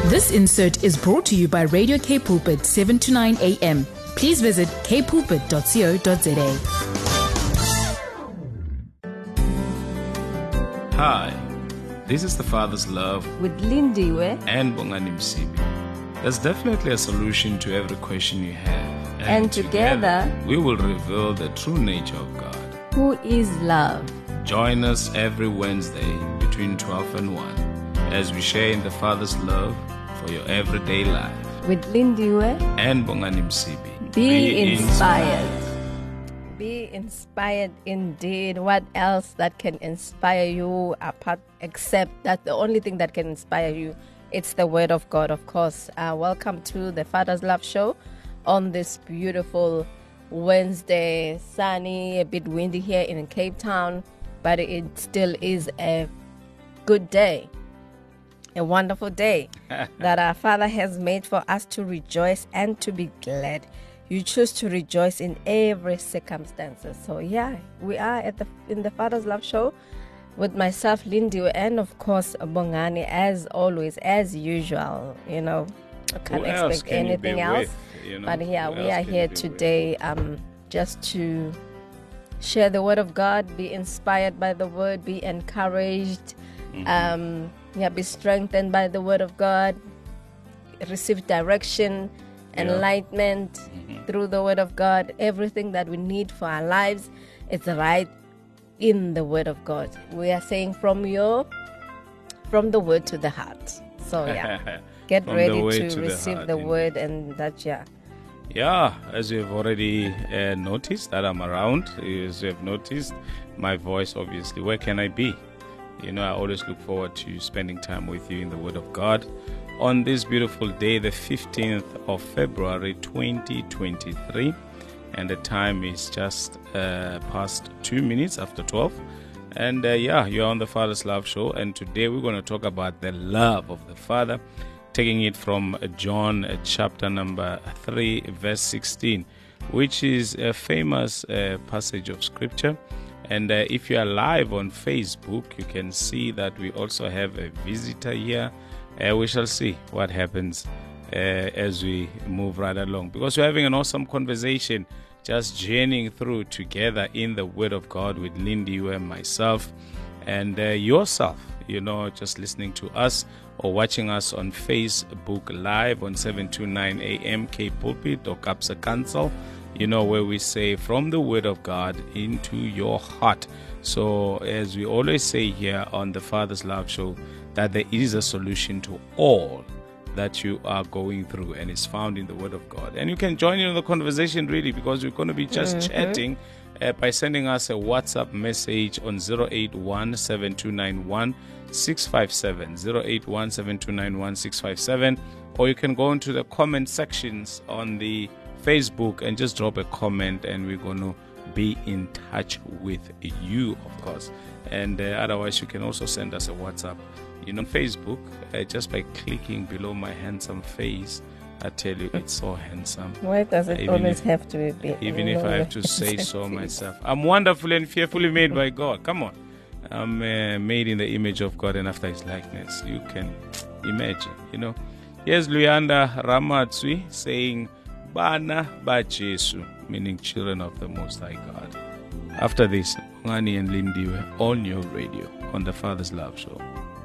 This insert is brought to you by Radio K Pulpit 7 to 9 a.m. Please visit kpulpit.co.za. Hi, this is The Father's Love with Lindiwe and Bongani Msibi. There's definitely a solution to every question you have. And together we will reveal the true nature of God, who is love. Join us every Wednesday between 12 and 1 as we share in the Father's love for your everyday life. With Lindiwe and Bongani Msibi. Be inspired. Be inspired indeed. What else that can inspire you apart except that the only thing that can inspire you, it's the Word of God, of course. Welcome to the Father's Love Show on this beautiful Wednesday. Sunny, a bit windy here in Cape Town, but it still is a good day. A wonderful day that our Father has made for us to rejoice and to be glad. You choose to rejoice in every circumstances. So yeah, we are in the Father's Love Show with myself, Lindy, and of course Bongani, as always, as usual. You know, I can't expect anything else. But yeah, we are here today just to share the Word of God, be inspired by the Word, be encouraged. Be strengthened by the Word of God, receive direction, enlightenment through the Word of God. Everything that we need for our lives is right in the Word of God. We are saying from the Word to the heart. So yeah, get ready to receive the Word, and that Yeah, as you have already noticed that I'm around, as you have noticed my voice, obviously, where can I be? You know, I always look forward to spending time with you in the Word of God on this beautiful day, the 15th of February, 2023. And the time is just past 2 minutes after 12. And you're on the Father's Love Show. And today we're going to talk about the love of the Father, taking it from John chapter number 3, verse 16, which is a famous passage of Scripture. And if you are live on Facebook, you can see that we also have a visitor here. We shall see what happens as we move right along, because we're having an awesome conversation, just journeying through together in the Word of God with Lindy and myself and yourself, you know, just listening to us or watching us on Facebook Live on 729 AM K Pulpit or Kapsa Council, you know, where we say from the Word of God into your heart. So as we always say here on the Father's Love Show, that there is a solution to all that you are going through, and it's found in the Word of God. And you can join in the conversation, really, because we're going to be just chatting by sending us a WhatsApp message on 081-7291-657, 081-7291-657, or you can go into the comment sections on the Facebook and just drop a comment, and we're going to be in touch with you, of course. And otherwise, you can also send us a WhatsApp, you know, Facebook, just by clicking below my handsome face. I tell you, it's so handsome. Why does it always have to be? Even if I have to say so myself. I'm wonderfully and fearfully made by God. Come on. I'm made in the image of God and after His likeness. You can imagine, you know. Here's Luyanda Ramatsui saying, Bana ba Jesu, meaning children of the Most High God. After this, Ngani and Lindy were on your radio on the Father's Love Show.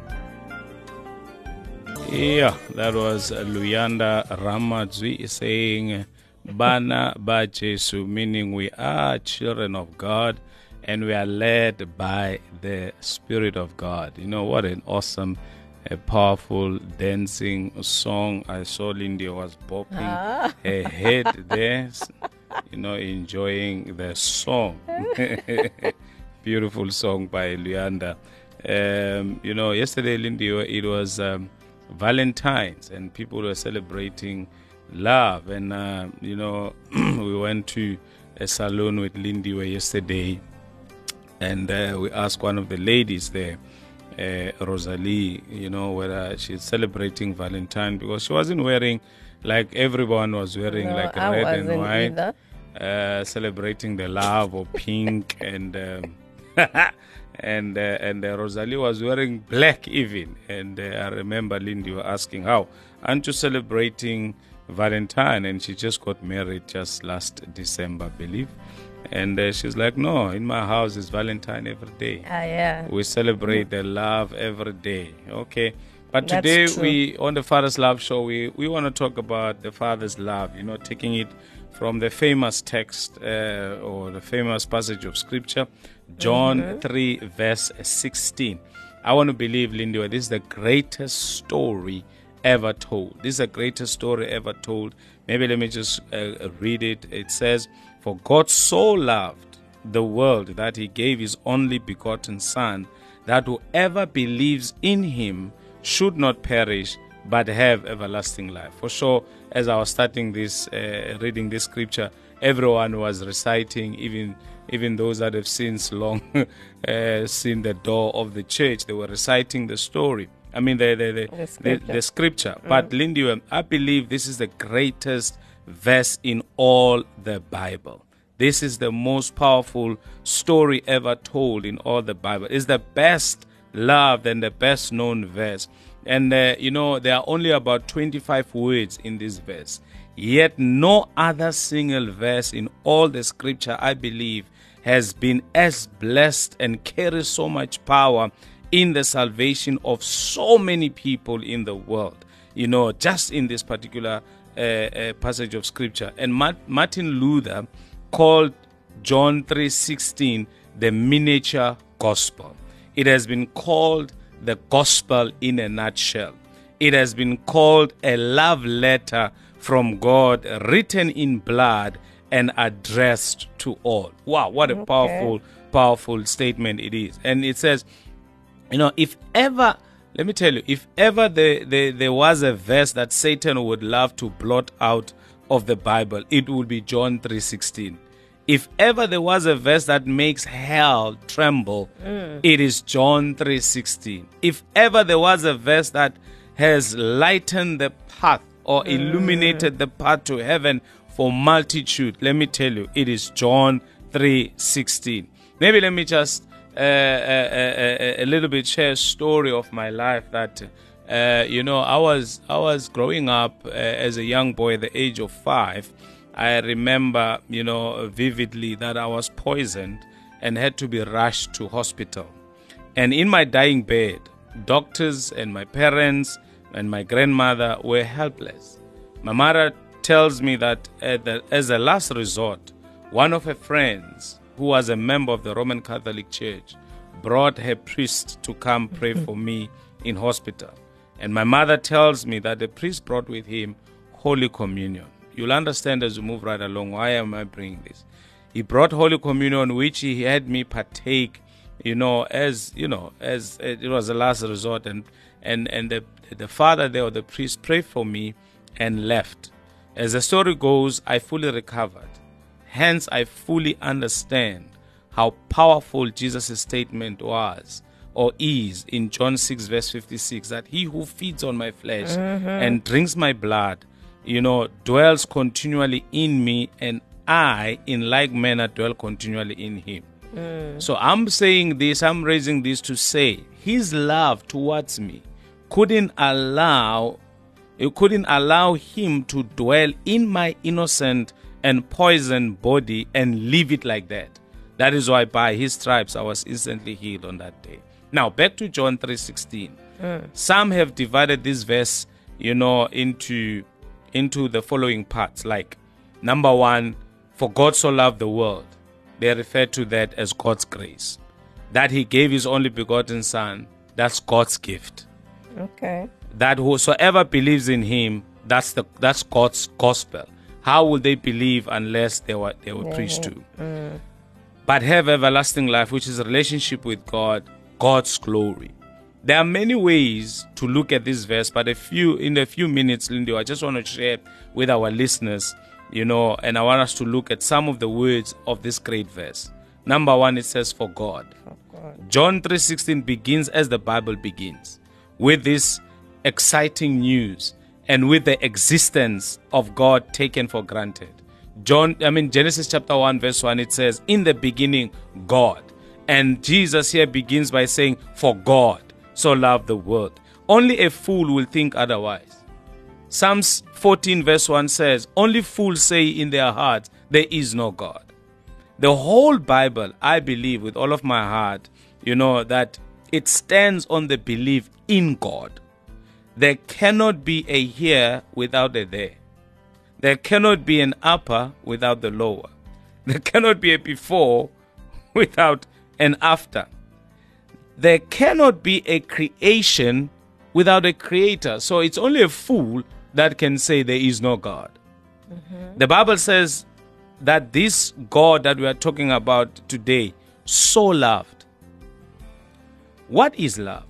Yeah, that was Luyanda Ramatsui saying, Bana ba Jesu, meaning we are children of God and we are led by the Spirit of God. You know, what an awesome, a powerful dancing song. I saw Lindy was bopping her head there, you know, enjoying the song. Beautiful song by Luyanda. You know, yesterday, Lindy, it was Valentine's, and people were celebrating love. And, you know, we went to a salon with Lindy yesterday, and we asked one of the ladies there, Rosalie, you know, whether she's celebrating Valentine, because she wasn't wearing like everyone was wearing, like red and white, celebrating the love or pink and and Rosalie was wearing black even. And I remember Lindy was asking, how? Aren't you celebrating Valentine? And she just got married just last December, I believe. And she's like, no, in my house is Valentine every day. Yeah. We celebrate the love every day. Okay. But That's today true. we, on the Father's Love Show, we want to talk about the Father's love, taking it from the famous text or the famous passage of Scripture, John 3, verse 16. I want to believe, Lindy, this is the greatest story ever told. This is the greatest story ever told. Maybe let me just read it. It says, for God so loved the world that he gave his only begotten Son, that whoever believes in him should not perish, but have everlasting life. For sure, as I was starting this, reading this scripture, everyone was reciting, even those that have since long seen the door of the church, they were reciting the story. I mean, the scripture. But Lindy, I believe this is the greatest verse in all the Bible. This is the most powerful story ever told in all the Bible. It's the best loved and the best known verse. And, there are only about 25 words in this verse. Yet no other single verse in all the scripture, I believe, has been as blessed and carries so much power in the salvation of so many people in the world, just in this particular passage of scripture. And Martin Luther called John 3:16 the miniature gospel. It has been called the gospel in a nutshell. It has been called a love letter from God written in blood and addressed to all. Wow, what a powerful statement it is. And it says, if ever, let me tell you, if ever there was a verse that Satan would love to blot out of the Bible, it would be John 3:16. If ever there was a verse that makes hell tremble, it is John 3:16. If ever there was a verse that has lightened the path or illuminated the path to heaven for multitude, let me tell you, it is John 3:16. Maybe let me just a little bit share a story of my life that I was growing up as a young boy at the age of 5. I remember, vividly that I was poisoned and had to be rushed to hospital. And in my dying bed, doctors and my parents and my grandmother were helpless. My mother tells me that as a last resort, one of her friends, who was a member of the Roman Catholic Church, brought her priest to come pray for me in hospital. And my mother tells me that the priest brought with him Holy Communion. You'll understand as we move right along why am I bringing this. He brought Holy Communion, which he had me partake, as it was the last resort, and the father there or the priest prayed for me and left. As the story goes, I fully recovered. Hence, I fully understand how powerful Jesus' statement was or is in John 6 verse 56, that he who feeds on my flesh and drinks my blood, dwells continually in me, and I in like manner dwell continually in him. So I'm saying this, I'm raising this to say his love towards me couldn't allow him to dwell in my innocent and poisoned body and leave it like that. That is why by his stripes I was instantly healed on that day. Now back to John 3:16. Some have divided this verse, into the following parts. Like, number 1, for God so loved the world. They refer to that as God's grace. That he gave his only begotten Son, that's God's gift. Okay. That whosoever believes in him, that's God's gospel. How will they believe unless they were preached to? But have everlasting life, which is a relationship with God, God's glory. There are many ways to look at this verse, but in a few minutes, Lindy, I just want to share with our listeners, and I want us to look at some of the words of this great verse. Number 1, it says, for God. John 3:16 begins as the Bible begins, with this exciting news and with the existence of God taken for granted. Genesis chapter 1 verse 1, it says, in the beginning, God. And Jesus here begins by saying, for God so loved the world. Only a fool will think otherwise. Psalms 14 verse 1 says, only fools say in their hearts, there is no God. The whole Bible, I believe with all of my heart, that it stands on the belief in God. There cannot be a here without a there. There cannot be an upper without the lower. There cannot be a before without an after. There cannot be a creation without a creator. So it's only a fool that can say there is no God. Mm-hmm. The Bible says that this God that we are talking about today so loved. What is love?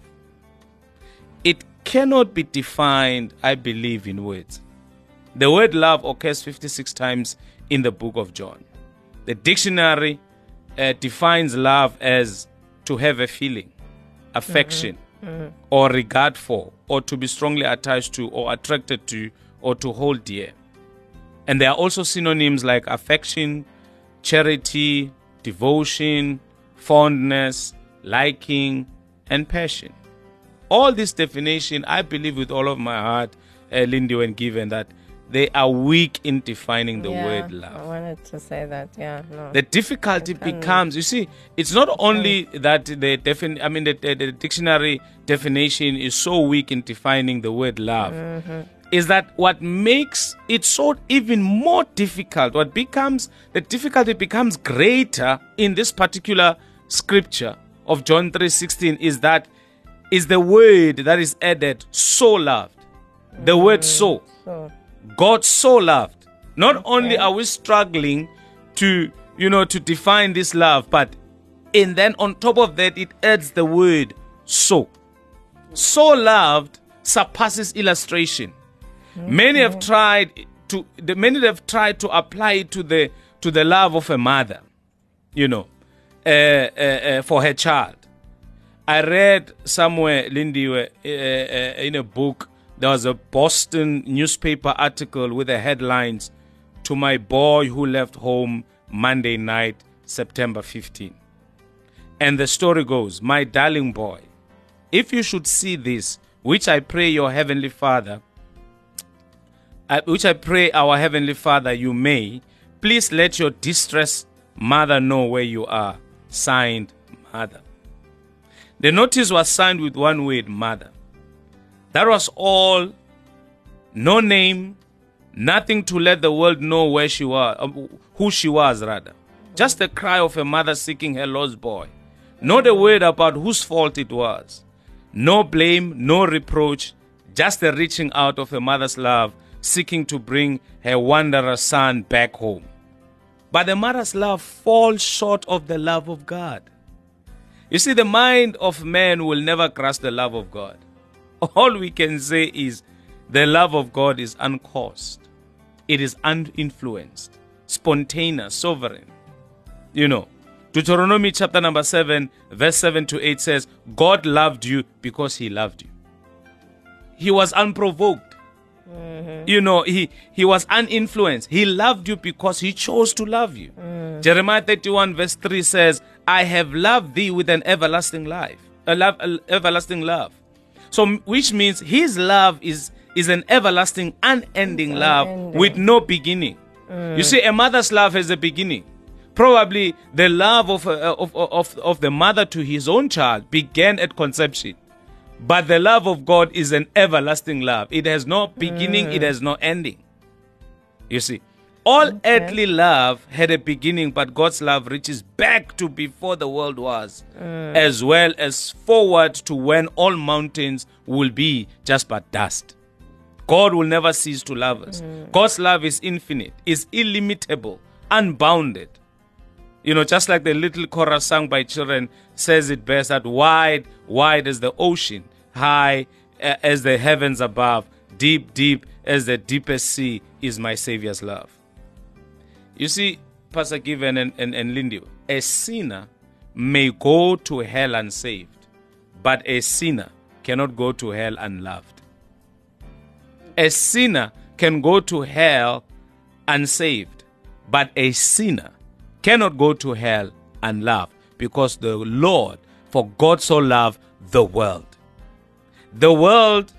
It cannot be defined, I believe, in words. The word love occurs 56 times in the book of John. The dictionary defines love as to have a feeling, affection, or regard for, or to be strongly attached to, or attracted to, or to hold dear. And there are also synonyms like affection, charity, devotion, fondness, liking, and passion. All this definition, I believe with all of my heart, Lindy, when given that they are weak in defining the word love. I wanted to say that, no. The difficulty becomes, you see, it's not only that the dictionary definition is so weak in defining the word love, is that what makes it so even more difficult, the difficulty becomes greater in this particular scripture of John 3:16 is the word that is added, so loved. The word so. God so loved. Not only are we struggling to define this love, but then on top of that, it adds the word so. So loved surpasses illustration. Many have tried to apply it to the love of a mother, for her child. I read somewhere, Lindy, in a book, there was a Boston newspaper article with the headlines, "To my boy who left home Monday night, September 15." And the story goes, "My darling boy, if you should see this, which I pray our Heavenly Father you may, please let your distressed mother know where you are. Signed, Mother." The notice was signed with one word, Mother. That was all. No name, nothing to let the world know where she was, who she was rather. Just the cry of a mother seeking her lost boy. Not a word about whose fault it was. No blame, no reproach, just the reaching out of a mother's love, seeking to bring her wanderer son back home. But the mother's love falls short of the love of God. You see, the mind of man will never grasp the love of God. All we can say is the love of God is uncaused. It is uninfluenced, spontaneous, sovereign. Deuteronomy chapter number 7, verse 7 to 8 says, God loved you because he loved you. He was unprovoked. He was uninfluenced. He loved you because he chose to love you. Jeremiah 31 verse 3 says, I have loved thee with an everlasting everlasting love. So, which means his love is an everlasting, unending love with no beginning. You see, a mother's love has a beginning. Probably the love of the mother to his own child began at conception. But the love of God is an everlasting love. It has no beginning, it has no ending. You see, all earthly love had a beginning, but God's love reaches back to before the world was, as well as forward to when all mountains will be just but dust. God will never cease to love us. God's love is infinite, is illimitable, unbounded. Just like the little chorus sung by children says it best, that wide, wide as the ocean, high as the heavens above, deep, deep as the deepest sea is my Savior's love. You see, Pastor Given and Lindy, a sinner may go to hell unsaved, but a sinner cannot go to hell unloved. A sinner can go to hell unsaved, but a sinner cannot go to hell unloved, because the Lord, for God so loved the world. The world,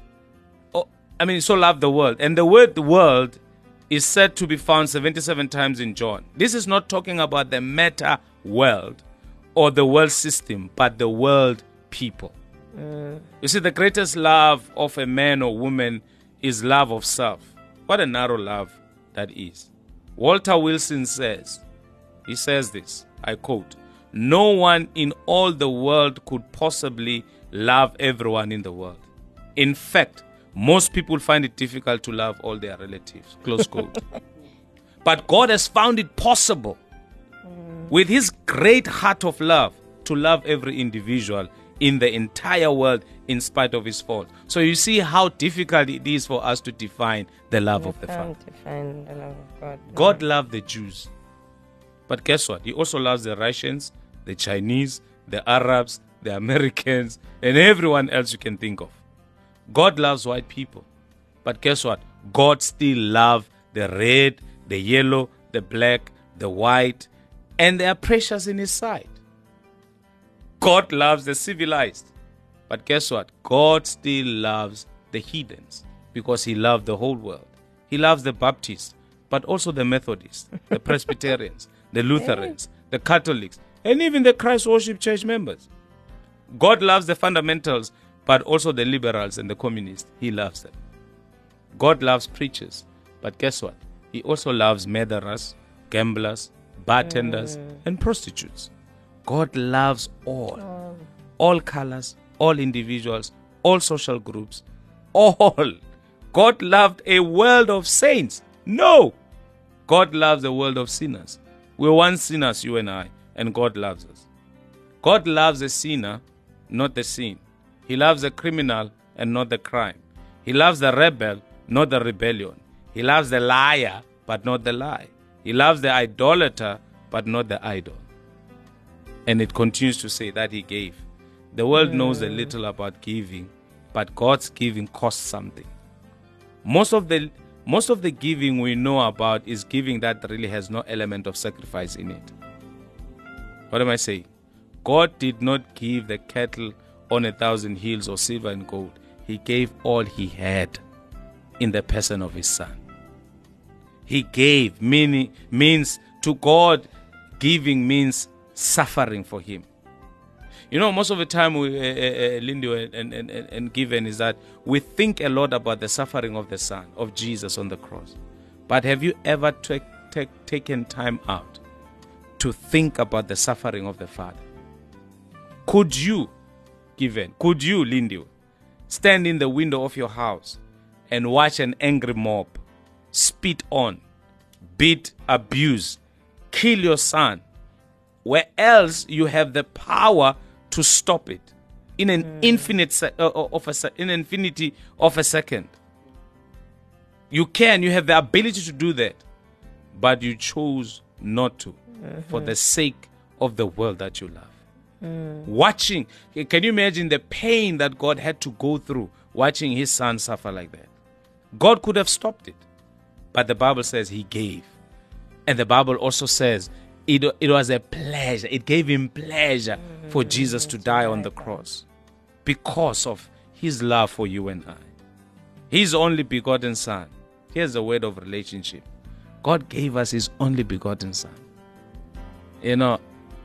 so loved the world. And the word world is said to be found 77 times in John. This is not talking about the meta world or the world system, but the world people. You see, the greatest love of a man or woman is love of self. What a narrow love that is. Walter Wilson says this, I quote, "No one in all the world could possibly love everyone in the world. In fact, most people find it difficult to love all their relatives," close quote. But God has found it possible with his great heart of love to love every individual in the entire world in spite of his fault. So you see how difficult it is for us to define the love of the Father. Define the love of God. God loved the Jews. But guess what? He also loves the Russians, the Chinese, the Arabs, the Americans, and everyone else you can think of. God loves white people. But guess what? God still loves the red, the yellow, the black, the white, and they are precious in his sight. God loves the civilized. But guess what? God still loves the heathens because he loved the whole world. He loves the Baptists, but also the Methodists, the Presbyterians, the Lutherans, the Catholics, and even the Christ Worship Church members. God loves the fundamentals, but also the liberals and the communists. He loves them. God loves preachers, but guess what? He also loves murderers, gamblers, bartenders, and prostitutes. God loves all colors, all individuals, all social groups, all. God loved a world of saints. No, God loves a world of sinners. We're once sinners, you and I, and God loves us. God loves the sinner, not the sin. He loves the criminal and not the crime. He loves the rebel, not the rebellion. He loves the liar, but not the lie. He loves the idolater, but not the idol. And it continues to say that he gave. The world knows a little about giving, but God's giving costs something. Most of the giving we know about is giving that really has no element of sacrifice in it. What am I saying? God did not give the cattle on 1,000 hills or silver and gold. He gave all he had in the person of his son. He gave, means to God, giving means suffering for him. You know, most of the time, Lindy and Given, is that we think a lot about the suffering of the Son, of Jesus on the cross. But have you ever taken time out to think about the suffering of the Father? Could you, Lindy, stand in the window of your house and watch an angry mob spit on, beat, abuse, kill your son, where else you have the power to stop it in an infinity of a second? You have the ability to do that, but you chose not to for the sake of the world that you love. Watching, can you imagine the pain that God had to go through watching his son suffer like that? God could have stopped it, but the Bible says he gave. And the Bible also says it was a pleasure. It gave him pleasure for Jesus to die on the cross because of his love for you and I. His only begotten son. Here's the word of relationship. God gave us his only begotten son. You know,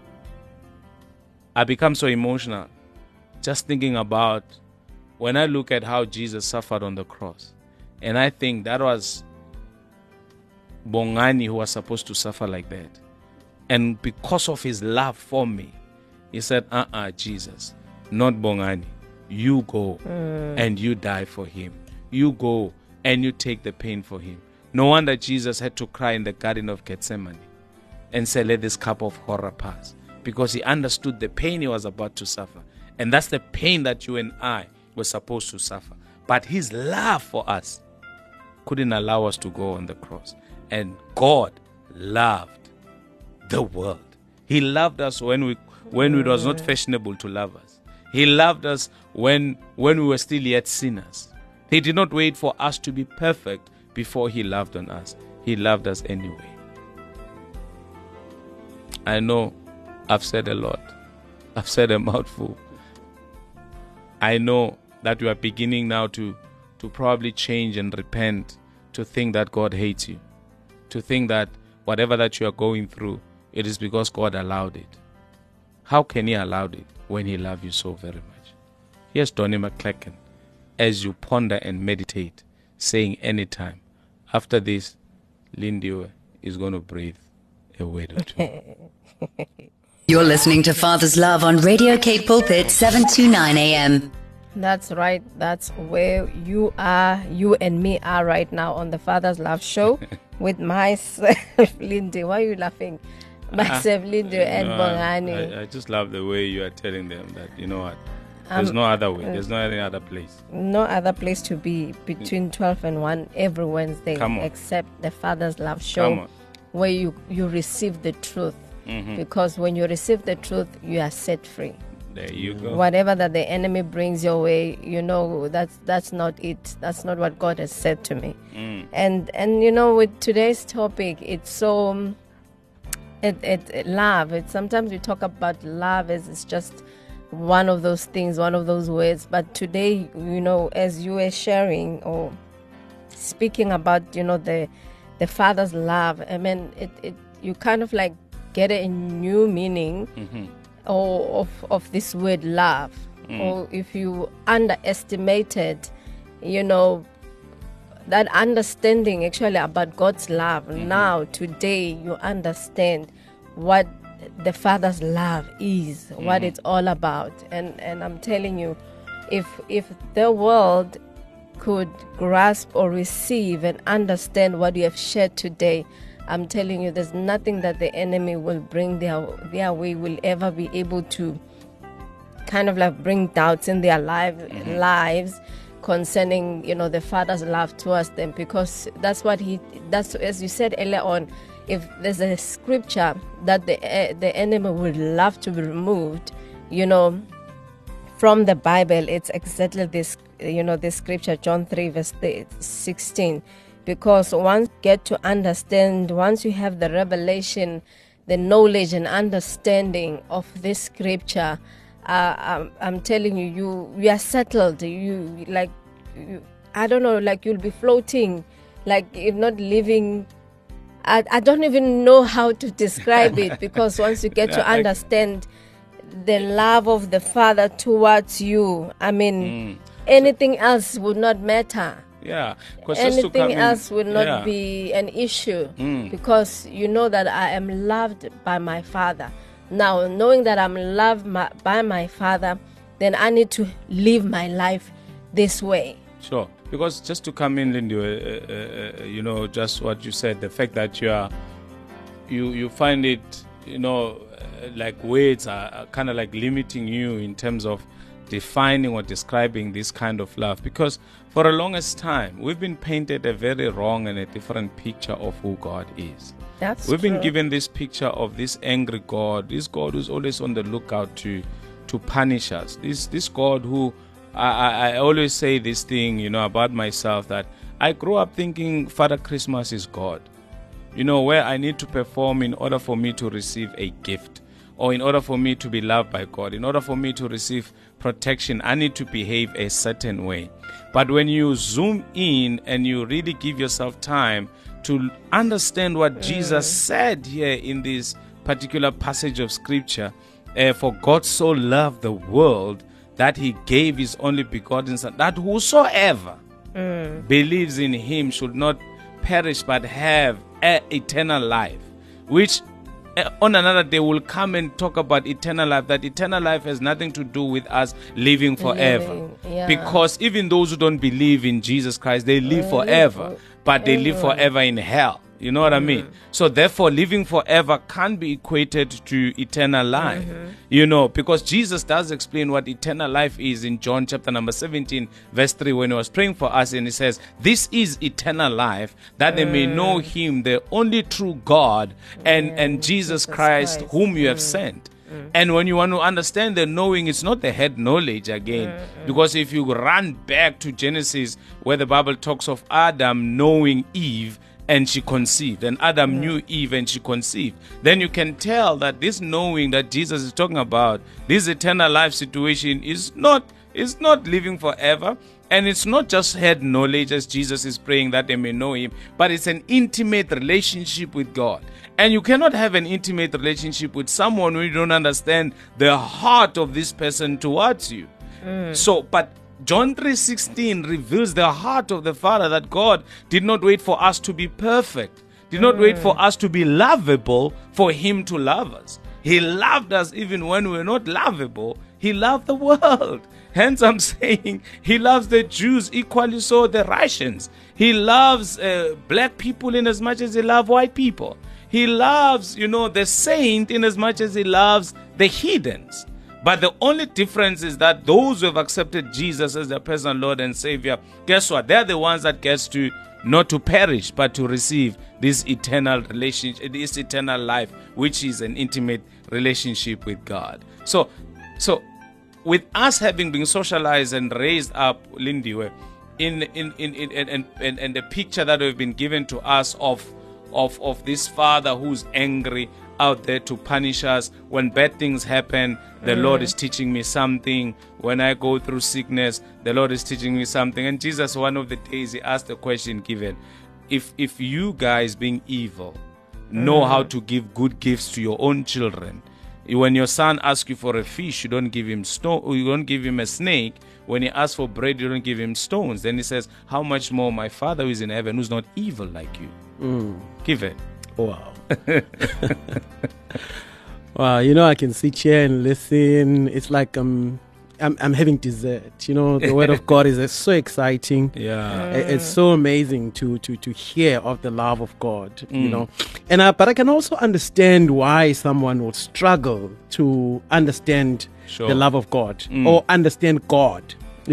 I become so emotional just thinking about when I look at how Jesus suffered on the cross. And I think that was Bongani who was supposed to suffer like that. And because of his love for me, he said, Jesus, not Bongani. You go and you die for him. You go and you take the pain for him. No wonder Jesus had to cry in the Garden of Gethsemane and say, let this cup of horror pass. Because he understood the pain he was about to suffer. And that's the pain that you and I were supposed to suffer. But his love for us couldn't allow us to go on the cross. And God loved the world. He loved us when it was not fashionable to love us. He loved us when we were still yet sinners. He did not wait for us to be perfect before he loved on us. He loved us anyway. I know I've said a lot, I've said a mouthful. I know that you are beginning now to probably change and repent, to think that God hates you, to think that whatever that you are going through, it is because God allowed it. How can He allow it when He loves you so very much? Here's Donnie McClellan as you ponder and meditate, saying anytime, after this, Lindy is going to breathe a word or two. You're listening to Father's Love on Radio Cape Pulpit, 729 AM. That's right. That's where you are, you and me are right now on the Father's Love Show with myself, Lindy. Why are you laughing? Myself, Lindy, and Bongani. I just love the way you are telling them that, you know what, there's no other way. There's no any other place. No other place to be between 12 and 1 every Wednesday except the Father's Love Show, where you receive the truth. Mm-hmm. Because when you receive the truth, you are set free. There you go. Whatever that the enemy brings your way, you know, that's not it. That's not what God has said to me. And you know, with today's topic, it's so love. Sometimes we talk about love as it's just one of those things, one of those words. But today, you know, as you were sharing or speaking about, you know, the Father's love, I mean, you kind of like get a new meaning of this word love. Or if you underestimated, you know, that understanding actually about God's love, now today you understand what the Father's love is, what it's all about. And I'm telling you, if the world could grasp or receive and understand what you have shared today, I'm telling you, there's nothing that the enemy will bring their way will ever be able to kind of like bring doubts in their lives concerning, you know, the Father's love towards them, because that's as you said earlier on. If there's a scripture that the enemy would love to be removed, you know, from the Bible, it's exactly this, you know, this scripture, John 3 verse 16. Because once you get to understand, once you have the revelation, the knowledge and understanding of this scripture, I'm telling you, you are settled. I don't know, like you'll be floating, like you're not living. I don't even know how to describe it, because once you get to understand the love of the Father towards you, I mean, anything else would not matter. Yeah, anything else will not be an issue, because you know that I am loved by my Father. Now, knowing that I'm loved by my Father, then I need to live my life this way. Sure, because just to come in, Lindy, you know, just what you said, the fact that you find it, you know, like words are kind of like limiting you in terms of defining or describing this kind of love, because for the longest time we've been painted a very wrong and a different picture of who God is. We've been given this picture of this angry God, this God who's always on the lookout to punish us, this God who I always say this thing, you know, about myself, that I grew up thinking Father Christmas is God, you know, where I need to perform in order for me to receive a gift, or in order for me to be loved by God, in order for me to receive protection, I need to behave a certain way. But when you zoom in and you really give yourself time to understand what Jesus said here in this particular passage of scripture, for God so loved the world that he gave his only begotten Son, that whosoever believes in him should not perish but have eternal life, which on another day we'll come and talk about eternal life, that eternal life has nothing to do with us living forever. Because even those who don't believe in Jesus Christ, they live forever, but they live forever in hell. You know what I mean? So therefore, living forever can't be equated to eternal life, you know, because Jesus does explain what eternal life is in John chapter number 17, verse 3, when he was praying for us, and he says, this is eternal life, that they may know him, the only true God, and Jesus Christ, whom you have sent. And when you want to understand the knowing, it's not the head knowledge again. Because if you run back to Genesis, where the Bible talks of Adam knowing Eve, and she conceived, and Adam knew Eve and she conceived. Then you can tell that this knowing that Jesus is talking about, this eternal life situation, is not living forever, and it's not just head knowledge as Jesus is praying that they may know him, but it's an intimate relationship with God. And you cannot have an intimate relationship with someone when you don't understand the heart of this person towards you. But John 3:16 reveals the heart of the Father, that God did not wait for us to be perfect, did not wait for us to be lovable for him to love us. He loved us even when we were not lovable. He loved the world. Hence I'm saying he loves the Jews equally, so the Russians. He loves black people in as much as he loves white people. He loves, the saint in as much as he loves the heathens. But the only difference is that those who have accepted Jesus as their personal Lord and Savior, guess what? They're the ones that gets to not to perish, but to receive this eternal relationship, this eternal life, which is an intimate relationship with God. So with us having been socialized and raised up, Lindiwe, in the picture that we've been given to us of this Father who's angry out there to punish us. When bad things happen, the Lord is teaching me something. When I go through sickness, the Lord is teaching me something. And Jesus, one of the days, he asked the question given, if you guys being evil know how to give good gifts to your own children, when your son asks you for a fish, you don't give him you don't give him a snake. When he asks for bread, you don't give him stones. Then he says, how much more my Father who is in heaven, who's not evil like you? Give it. Wow. Wow, I can sit here and listen. It's like I'm having dessert. The word of God is so exciting. Yeah. It's so amazing to hear of the love of God, And but I can also understand why someone would struggle to understand the love of God or understand God,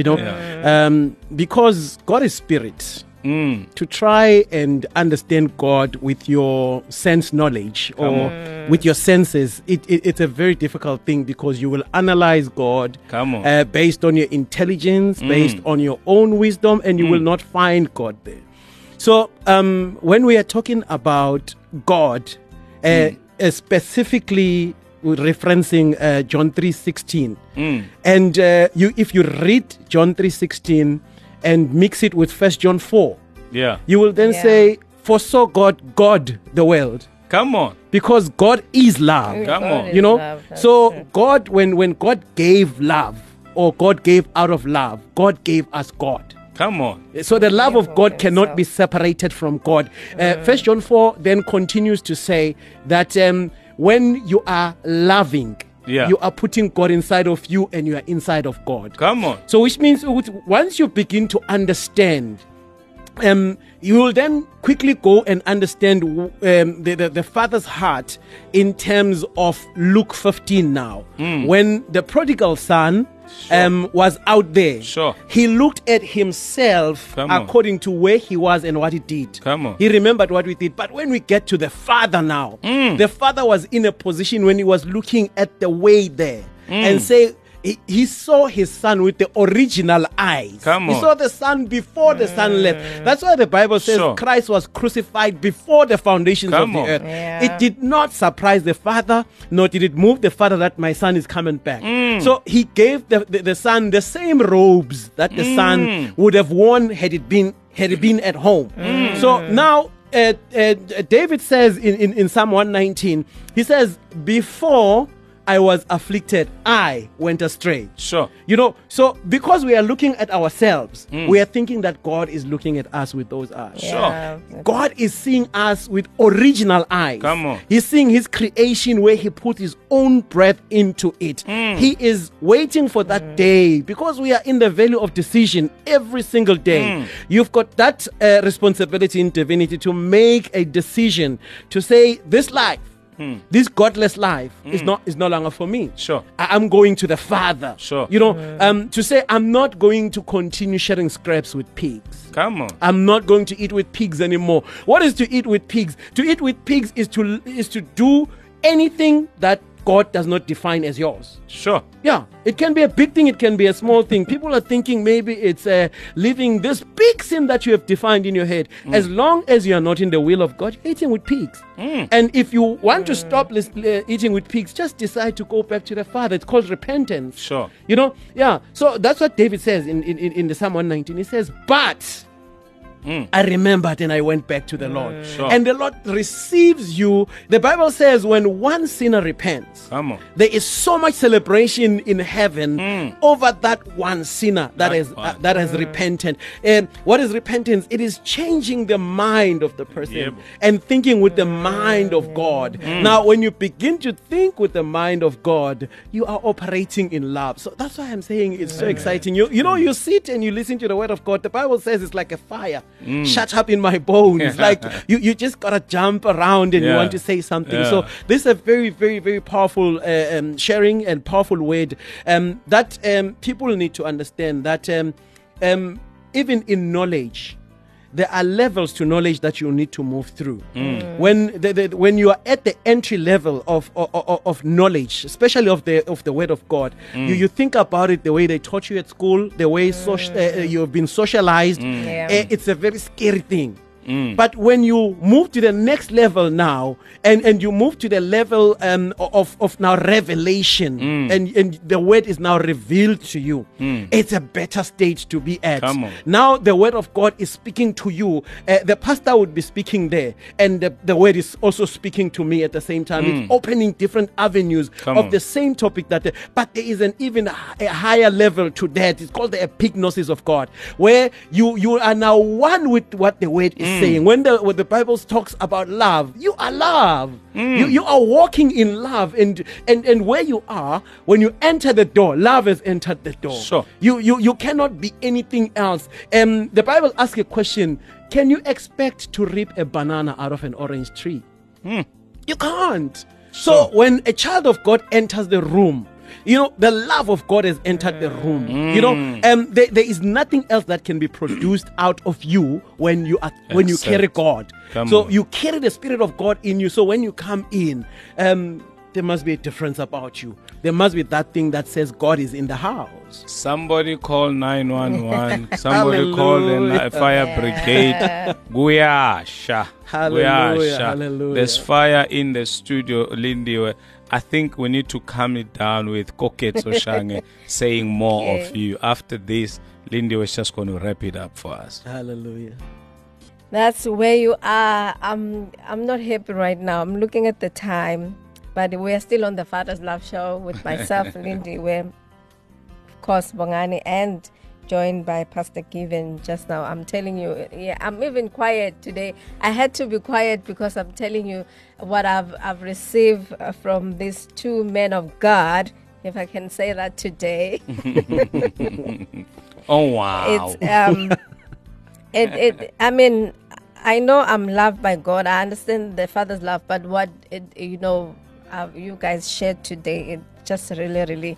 because God is spirit. To try and understand God with your sense knowledge or with your senses, it's a very difficult thing, because you will analyze God based on your intelligence, based on your own wisdom, and you will not find God there. So when we are talking about God, specifically referencing John 3:16, and if you read John 3:16 and mix it with 1 John 4. Yeah. You will then say, for so God the world. Come on. Because God is love. Come on. Love, so true. God, when God gave love, or God gave out of love, God gave us God. Come on. So the love of God cannot be separated from God. 1 John 4 then continues to say that when you are loving, you are putting God inside of you, and you are inside of God. Come on. So which means once you begin to understand, you will then quickly go and understand the Father's heart in terms of Luke 15 now. When the prodigal son was out there, he looked at himself according to where he was and what he did. He remembered what we did. But when we get to the Father now, the Father was in a position when he was looking at the way there and say, he saw his son with the original eyes. He saw the son before the son left. That's why the Bible says Christ was crucified before the foundations of the earth. It did not surprise the Father, nor did it move the Father that my son is coming back. So he gave the son the same robes that the son would have worn had it been at home. So now David says in Psalm 119, he says, before I was afflicted, I went astray. So because we are looking at ourselves, we are thinking that God is looking at us with those eyes. God is seeing us with original eyes. He's seeing his creation where he put his own breath into it. He is waiting for that day, because we are in the valley of decision every single day. You've got that responsibility in divinity to make a decision to say, this life, this godless life is no longer for me. I'm going to the Father. To say I'm not going to continue sharing scraps with pigs. I'm not going to eat with pigs anymore. What is to eat with pigs? To eat with pigs is to do anything that God does not define as yours. Sure. Yeah, it can be a big thing, it can be a small thing. People are thinking maybe it's living this big sin that you have defined in your head. As long as you are not in the will of God, you're eating with pigs. And if you want to stop eating with pigs, just decide to go back to the Father. It's called repentance. Sure. You know, yeah. So that's what David says in the Psalm 119. He says, but I remembered and I went back to the Lord. Sure. And the Lord receives you. The Bible says when one sinner repents, Come on. there is so much celebration in heaven over that one sinner that has repented. And what is repentance? It is changing the mind of the person Yep. and thinking with the mind of God. Now, when you begin to think with the mind of God, you are operating in love. So that's why I'm saying it's so exciting. You know, you sit and you listen to the word of God. The Bible says it's like a fire. Shut up in my bones. Like you just gotta jump around and you Yeah. want to say something. Yeah. So this is a very, very, very powerful sharing and powerful word that people need to understand that even in knowledge, there are levels to knowledge that you need to move through. When you are at the entry level of knowledge, especially of the word of God, you think about it the way they taught you at school, the way you have been socialized. It's a very scary thing. But when you move to the next level now, and you move to the level of now revelation, and the word is now revealed to you, it's a better stage to be at. Come on. Now the word of God is speaking to you. The pastor would be speaking there, and the word is also speaking to me at the same time. It's opening different avenues Come of on. the same topic but there is an even a higher level to that. It's called the epignosis of God, where you are now one with what the word is saying. When the Bible talks about love, you are love. You are walking in love, and where you are, when you enter the door, love has entered the door. Sure. You cannot be anything else. The Bible asks a question: can you expect to reap a banana out of an orange tree? You can't. So when a child of God enters the room, you know, the love of God has entered the room. You know, there is nothing else that can be produced out of you when you Except- carry God. Come So on. you carry the Spirit of God in you. So when you come in, there must be a difference about you. There must be that thing that says God is in the house. Somebody call 911. Somebody call the fire brigade. Guyasha. Hallelujah, hallelujah. There's fire in the studio, Lindy. I think we need to calm it down with Koketso Shange saying more of you. After this, Lindy was just going to wrap it up for us. Hallelujah. That's where you are. I'm not happy right now. I'm looking at the time, but we're still on the Father's Love Show with myself, Lindy, where, of course, Bongani, and joined by Pastor Given just now. I'm telling you, yeah, I'm even quiet today. I had to be quiet because I'm telling you what I've received from these two men of God, if I can say that today. Oh, wow. It's I mean, I know I'm loved by God. I understand the Father's love, but what you guys shared today, it just really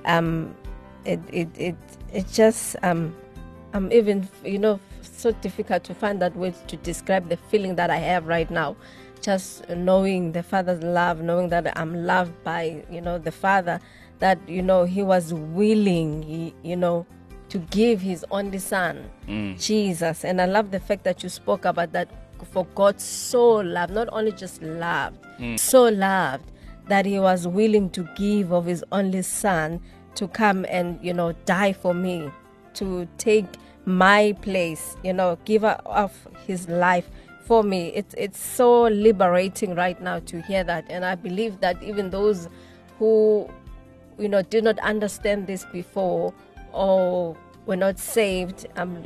it just I'm even so difficult to find that word to describe the feeling that I have right now. Just knowing the Father's love, knowing that I'm loved by the Father, that He was willing, to give His only Son, Jesus. And I love the fact that you spoke about that. For God so loved, not only just loved, so loved that He was willing to give of His only Son to come and die for me, to take my place, give of His life for me. It's so liberating right now to hear that. And I believe that even those who did not understand this before, or were not saved,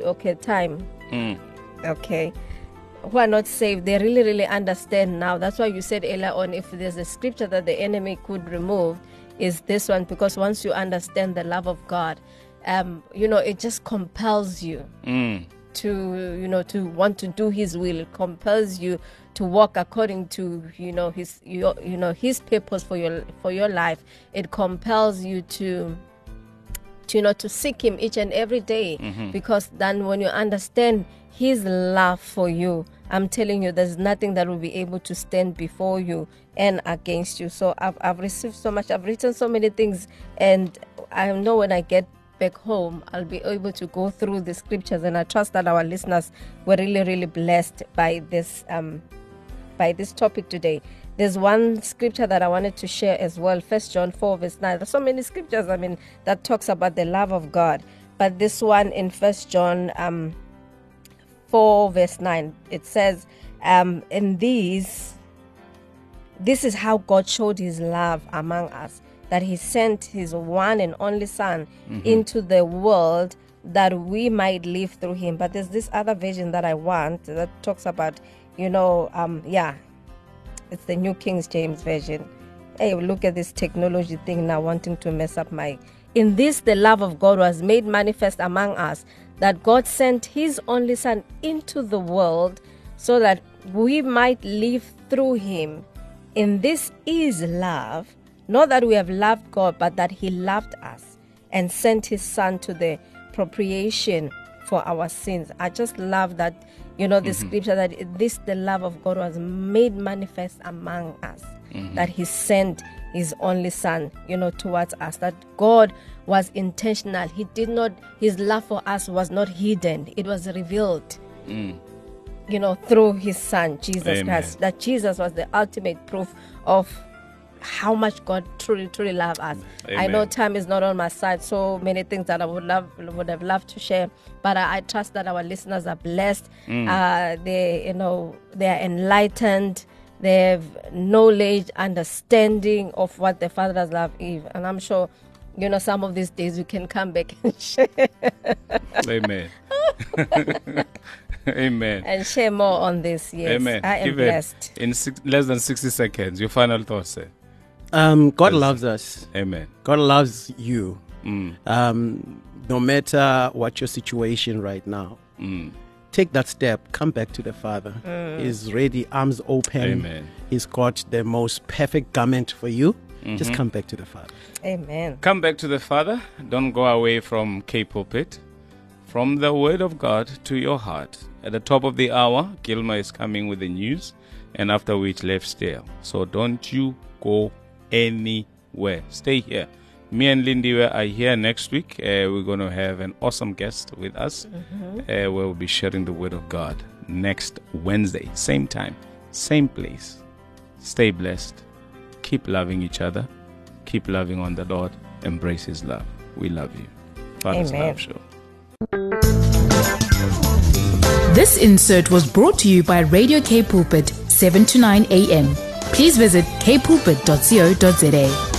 who are not saved, they really understand now. That's why you said earlier on, if there's a scripture that the enemy could remove, is this one, because once you understand the love of God, it just compels you to want to do His will. It compels you to walk according to His purpose for your life. It compels you to seek Him each and every day, because then when you understand His love for you, I'm telling you, there's nothing that will be able to stand before you and against you. So I've received so much. I've written so many things, and I know when I get back home, I'll be able to go through the scriptures, and I trust that our listeners were really, really blessed by this topic today. There's one scripture that I wanted to share as well, 1 John 4 verse 9. There's so many scriptures, that talks about the love of God. But this one in 1 John 4 verse 9, it says, in this is how God showed his love among us, that he sent his one and only Son into the world that we might live through him. But there's this other version that I want that talks about, it's the New King James Version. Hey, look at this technology thing now wanting to mess up my... In this, the love of God was made manifest among us, that God sent his only Son into the world so that we might live through him. In this is love, not that we have loved God, but that he loved us and sent his Son to the propitiation for our sins. I just love that, the scripture that this, the love of God was made manifest among us, that he sent his only Son, towards us, that God was intentional. His love for us was not hidden. It was revealed, through his Son, Jesus Christ, that Jesus was the ultimate proof of how much God truly, truly loves us. Amen. I know time is not on my side. So many things that I would have loved to share, but I trust that our listeners are blessed. They are enlightened. They have knowledge, understanding of what the Father's love is, and I'm sure, some of these days you can come back and share. Amen. Amen. And share more on this. Yes. Amen. I am blessed. In less than 60 seconds, your final thoughts, sir. God loves us. Amen. God loves you. No matter what your situation right now, take that step. Come back to the Father. He's ready, arms open. Amen. He's got the most perfect garment for you. Just come back to the Father. Amen. Come back to the Father. Don't go away from K Pulpit. From the Word of God to your heart. At the top of the hour, Gilma is coming with the news, and after which, Lifestyle. So don't you go anywhere. Stay here. Me and Lindy are here next week. We're going to have an awesome guest with us. We'll be sharing the Word of God next Wednesday. Same time, same place. Stay blessed. Keep loving each other. Keep loving on the Lord. Embrace his love. We love you. Father's Love Show. This insert was brought to you by Radio K Pulpit, 7 to 9 a.m. Please visit kpulpit.co.za.